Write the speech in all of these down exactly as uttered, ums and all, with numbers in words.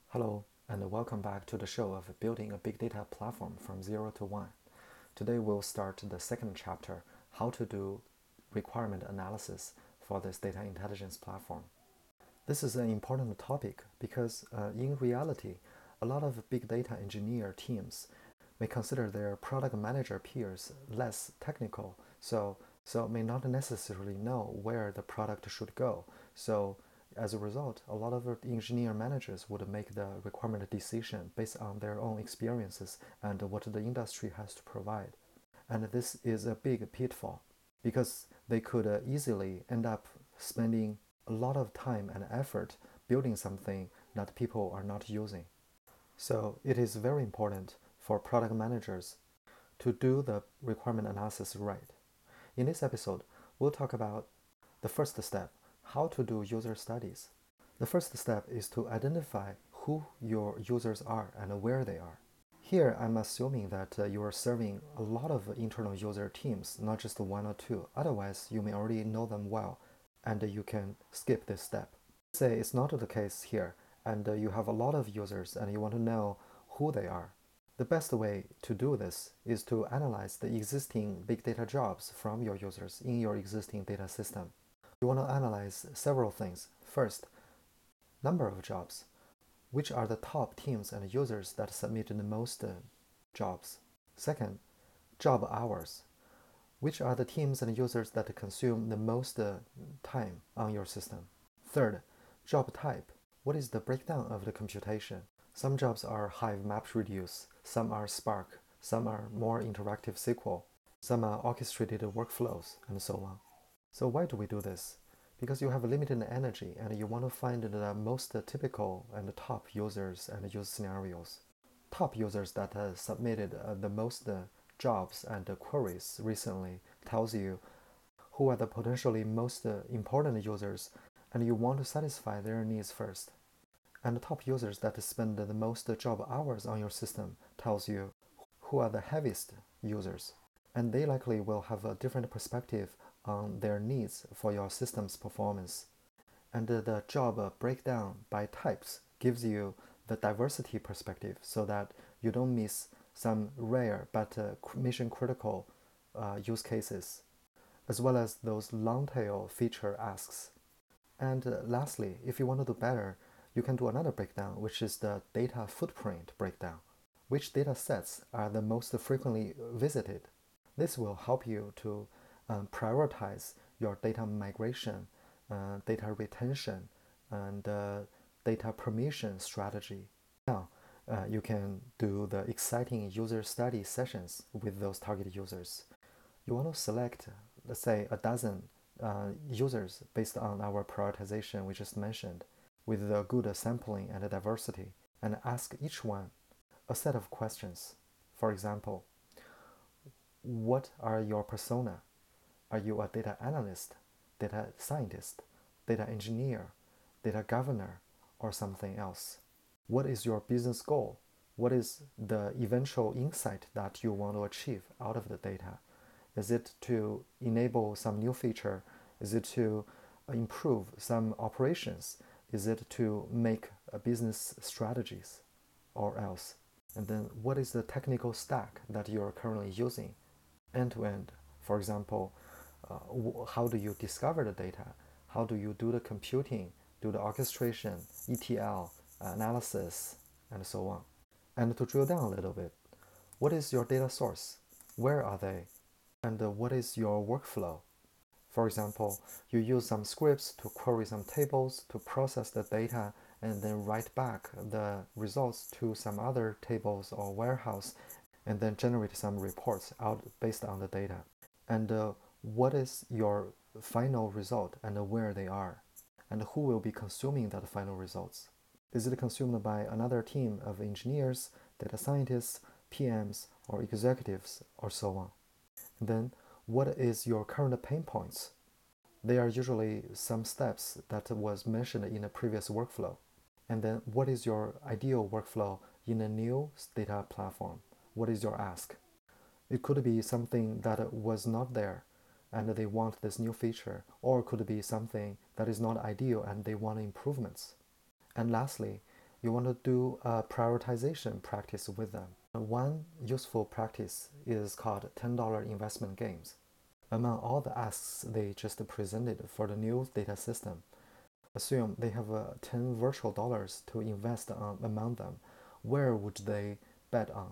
Hello, and welcome back to the show of building a big data platform from zero to one. Today we'll start the second chapter, how to do requirement analysis for this data intelligence platform. This is an important topic because uh, in reality, a lot of big data engineer teams may consider their product manager peers less technical, so so may not necessarily know where the product should go. So as a result, a lot of engineer managers would make the requirement decision based on their own experiences and what the industry has to provide. And this is a big pitfall because they could uh, easily end up spending a lot of time and effort building something that people are not using. So it is very important for product managers to do the requirement analysis right. In this episode, we'll talk about the first step, how to do user studies. The first step is to identify who your users are and where they are. Here, I'm assuming that uh, you are serving a lot of internal user teams, not just one or two. Otherwise, you may already know them well, and uh, you can skip this step. Say it's not the case here, and uh, you have a lot of users and you want to know who they are. The best way to do this is to analyze the existing big data jobs from your users in your existing data system. You want to analyze several things. First, number of jobs. Which are the top teams and users that submit the most uh, jobs? Second, job hours. Which are the teams and users that consume the most uh, time on your system? Third, job type. What is the breakdown of the computation? Some jobs are Hive MapReduce, some are Spark, some are more interactive S Q L, some are orchestrated workflows, and so on. So why do we do this? Because you have limited energy and you want to find the most typical and top users and use scenarios. Top users that uh, submitted uh, the most uh, jobs and uh, queries recently tells you who are the potentially most uh, important users, and you want to satisfy their needs first. And the top users that spend the most job hours on your system tells you who are the heaviest users, and they likely will have a different perspective on their needs for your system's performance. And the job breakdown by types gives you the diversity perspective so that you don't miss some rare but uh, mission critical uh, use cases, as well as those long tail feature asks. And uh, lastly, if you want to do better, you can do another breakdown, which is the data footprint breakdown. Which data sets are the most frequently visited? This will help you to um, prioritize your data migration, uh, data retention, and uh, data permission strategy. Now, uh, you can do the exciting user study sessions with those target users. You want to select, let's say, a dozen uh, users based on our prioritization we just mentioned, with a good sampling and diversity, and ask each one a set of questions. For example, what are your persona? Are you a data analyst, data scientist, data engineer, data governor, or something else? What is your business goal? What is the eventual insight that you want to achieve out of the data? Is it to enable some new feature? Is it to improve some operations? Is it to make a business strategies or else? And then what is the technical stack that you're currently using end to end? For example, uh, how do you discover the data? How do you do the computing, do the orchestration, E T L, analysis, and so on? And to drill down a little bit, what is your data source? Where are they? And uh, what is your workflow? For example, you use some scripts to query some tables to process the data and then write back the results to some other tables or warehouse and then generate some reports out based on the data. And uh, what is your final result and where they are? And who will be consuming that final results? Is it consumed by another team of engineers, data scientists, P Ms, or executives, or so on? And then, what is your current pain points? They are usually some steps that was mentioned in a previous workflow. And then, what is your ideal workflow in a new data platform? What is your ask? It could be something that was not there and they want this new feature, or it could be something that is not ideal and they want improvements. And lastly, you want to do a prioritization practice with them. One useful practice is called ten dollar investment games. Among all the asks they just presented for the new data system, assume they have uh, ten virtual dollars to invest on among them. Where would they bet on?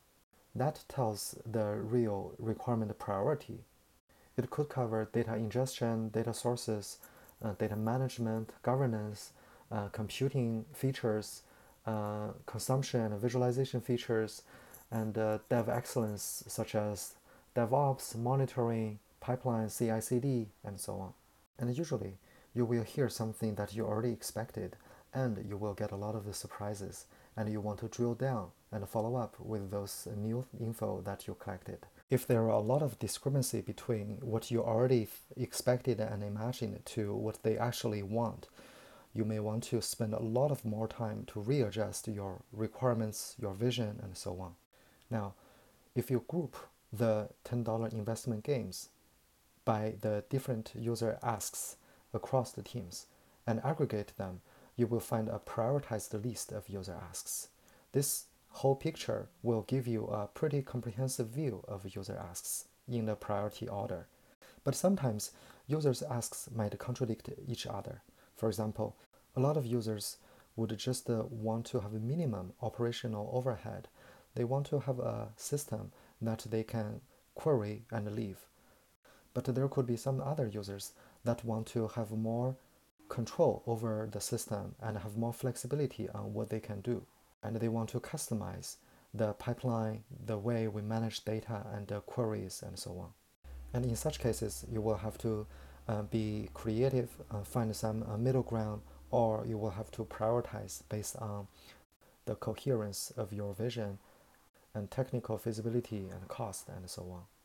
That tells the real requirement priority. It could cover data ingestion, data sources, uh, data management, governance, uh, computing features, uh, consumption and visualization features, and uh, dev excellence such as DevOps, monitoring, pipeline, C I C D, and so on. And usually, you will hear something that you already expected, and you will get a lot of the surprises, and you want to drill down and follow up with those new info that you collected. If there are a lot of discrepancy between what you already expected and imagined to what they actually want, you may want to spend a lot of more time to readjust your requirements, your vision, and so on. Now, if you group the ten dollar investment games by the different user asks across the teams and aggregate them, you will find a prioritized list of user asks. This whole picture will give you a pretty comprehensive view of user asks in the priority order. But sometimes users' asks might contradict each other. For example, a lot of users would just uh, want to have a minimum operational overhead. They want to have a system that they can query and leave. But there could be some other users that want to have more control over the system and have more flexibility on what they can do. And they want to customize the pipeline, the way we manage data and the queries and so on. And in such cases, you will have to uh, be creative, uh, find some uh, middle ground, or you will have to prioritize based on the coherence of your vision and technical feasibility and cost and so on.